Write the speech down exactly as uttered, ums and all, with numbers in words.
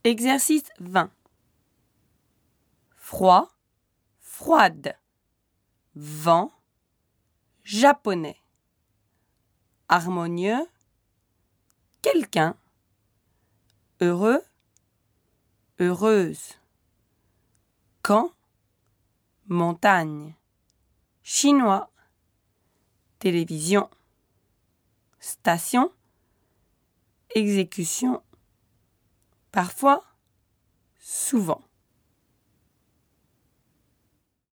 Exercice vingt. Froid, froide. Vent, japonais. Harmonieux, quelqu'un. Heureux, heureuse. Camp, montagne. Chinois, télévision. Station, exécution. Parfois, souvent.